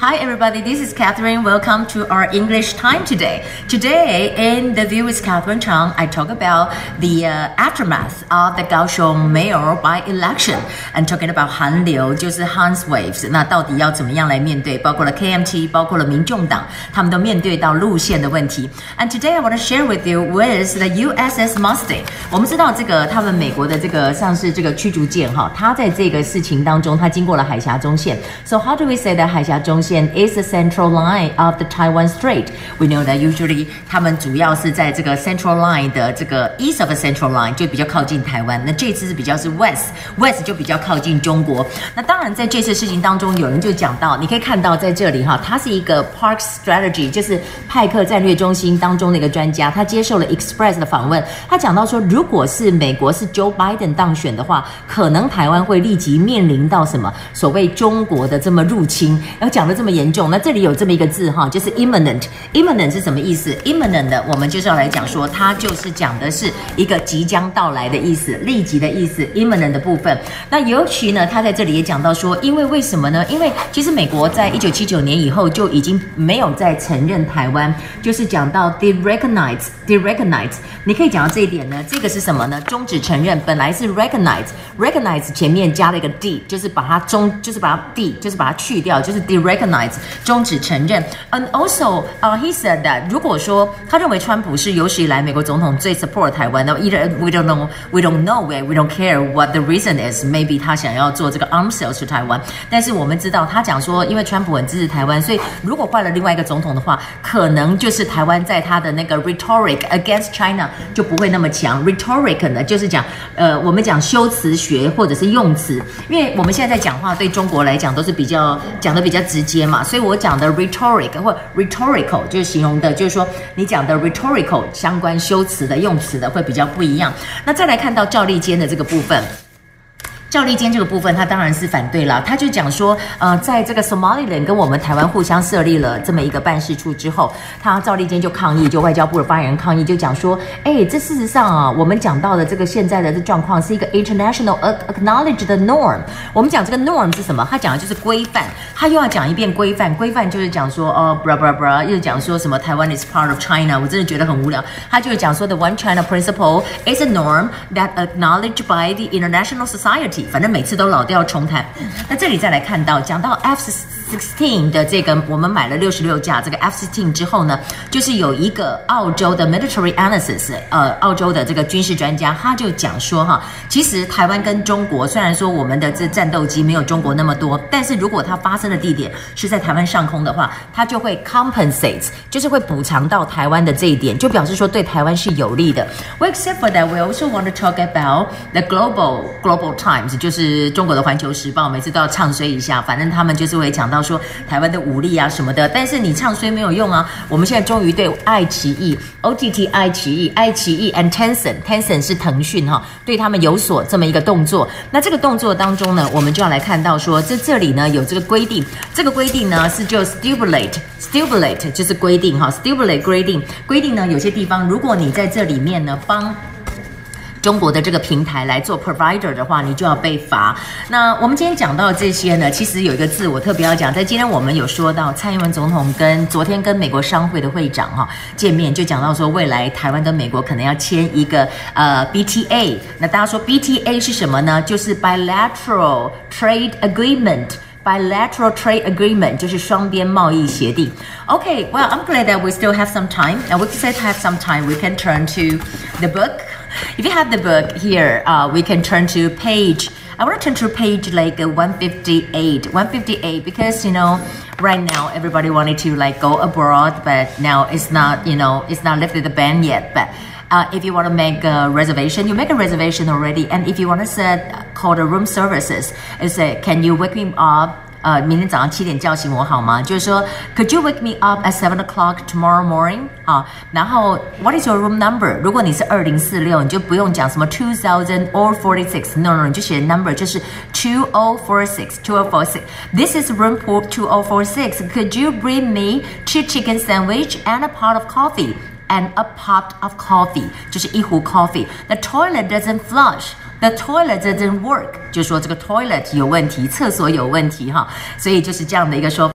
Hi everybody, this is Catherine. Welcome to our English time today. Today in The View with Catherine Chang, I talk about the aftermath of the Kaohsiung mayor by-election and talking about 韩流，就是 Han's Waves. 那到底要怎么样来面对？包括了 KMT， 包括了民众党，他们都面对到路线的问题。And today I want to share with you with the USS Mustang. 我们知道这个他们美国的这个像是这个驱逐舰哈，它在这个事情当中，它经过了海峡中线。So how do we say that 海峡中线is the central line of the Taiwan Strait? We know that usually 他们主要是在这个 central line 的这个 east of the central line 就比较靠近台湾，那这次是比较是 west 就比较靠近中国。那当然在这次事情当中，有人就讲到，你可以看到在这里哈，它是一个 Park Strategy， 就是派克战略中心当中的一个专家，他接受了 Express 的访问，他讲到说，如果是美国是 Joe Biden 当选的话，可能台湾会立即面临到什么所谓中国的这么入侵，然后讲的这么严重。那这里有这么一个字哈，就是 imminent 是什么意思 ？imminent 的我们就是要来讲说，它就是讲的是一个即将到来的意思，立即的意思 imminent 的部分。那尤其呢，他在这里也讲到说，因为什么呢？因为其实美国在1979年以后就已经没有再承认台湾，就是讲到 derecognize， 你可以讲到这一点呢，这个是什么呢？终止承认，本来是 recognize 前面加了一个 d， 就是把它去掉，就是 derecognize 终止承认。And also, he said that 如果说他认为川普是有史以来美国总统最 support 台湾的 ，either we don't know, we don't care what the reason is. Maybe 他想要做这个 arms sales to 台湾，但是我们知道他讲说，因为川普很支持台湾，所以如果换了另外一个总统的话，可能就是台湾在他的那个 rhetoric against China 就不会那么强。rhetoric 呢，就是讲我们讲修辞学或者是用词，因为我们现在在讲话对中国来讲都是讲的比较直接嘛，所以我讲的 rhetoric 或 rhetorical 就是形容的，就是说你讲的 rhetorical 相关修辞的用词的会比较不一样。那再来看到赵立坚的这个部分。赵立坚这个部分，他当然是反对了。他就讲说，在这个 Somaliland 跟我们台湾互相设立了这么一个办事处之后，赵立坚就抗议，就外交部的发言人抗议，就讲说，这事实上啊，我们讲到的这个现在的这状况是一个 international acknowledged norm。我们讲这个 norm 是什么？他讲的就是规范，他又要讲一遍规范。规范就是讲说，又讲说什么台湾 is part of China， 我真的觉得很无聊。他就讲说 the One China principle is a norm that acknowledged by the international society。反正每次都老调重弹。那这里再来看到，讲到 F-16 的这个，我们买了66架这个 F-16 之后呢，就是有一个澳洲的 military analysis， 澳洲的这个军事专家，他就讲说哈，其实台湾跟中国虽然说我们的这战斗机没有中国那么多，但是如果它发生的地点是在台湾上空的话，它就会 compensate， 就是会补偿到台湾的这一点，就表示说对台湾是有利的。Well, except for that, we also want to talk about the Global Times， 就是中国的环球时报，每次都要唱衰一下，反正他们就是会讲到说台湾的武力啊什么的，但是你唱衰没有用啊。我们现在终于对爱奇艺 OTT 爱奇艺 and Tencent 是腾讯哈，对他们有所这么一个动作。那这个动作当中呢，我们就要来看到说，这里呢有这个规定，这个规定呢是就 stipulate 就是规定哈 ，stipulate 规定呢有些地方，如果你在这里面呢帮中国的这个平台来做 provider 的话，你就要被罚。那我们今天讲到这些呢，其实有一个字我特别要讲，在今天我们有说到蔡英文总统昨天跟美国商会的会长见面，就讲到说未来台湾跟美国可能要签一个BTA。那大家说 BTA 是什么呢？就是 bilateral trade agreement。Bilateral trade agreement 就是双边贸易协定。Okay, well, I'm glad that we still have some time. And we still have some time. We can turn to the book. If you have the book here, we can turn to page. I want to turn to page like 158 because right now everybody wanted to like go abroad, but now it's not lifted the ban yet. But if you want to make a reservation, you make a reservation already. And if you want to call the room services, and say, can you wake me up? 明天早上7点叫醒我好吗？就是说 ，Could you wake me up at 7 o'clock tomorrow morning？ 然后 What is your room number？ 如果你是2046，你就不用讲什么 2000 or 46，no， 你就写 number 就是2046。This is room 2046. Could you bring me 2 chicken sandwich and a pot of coffee？And a pot of coffee 就是一壶 coffee. The toilet doesn't flush. The toilet doesn't work. 就说这个 toilet 有问题，厕所有问题哈，所以就是这样的一个说法。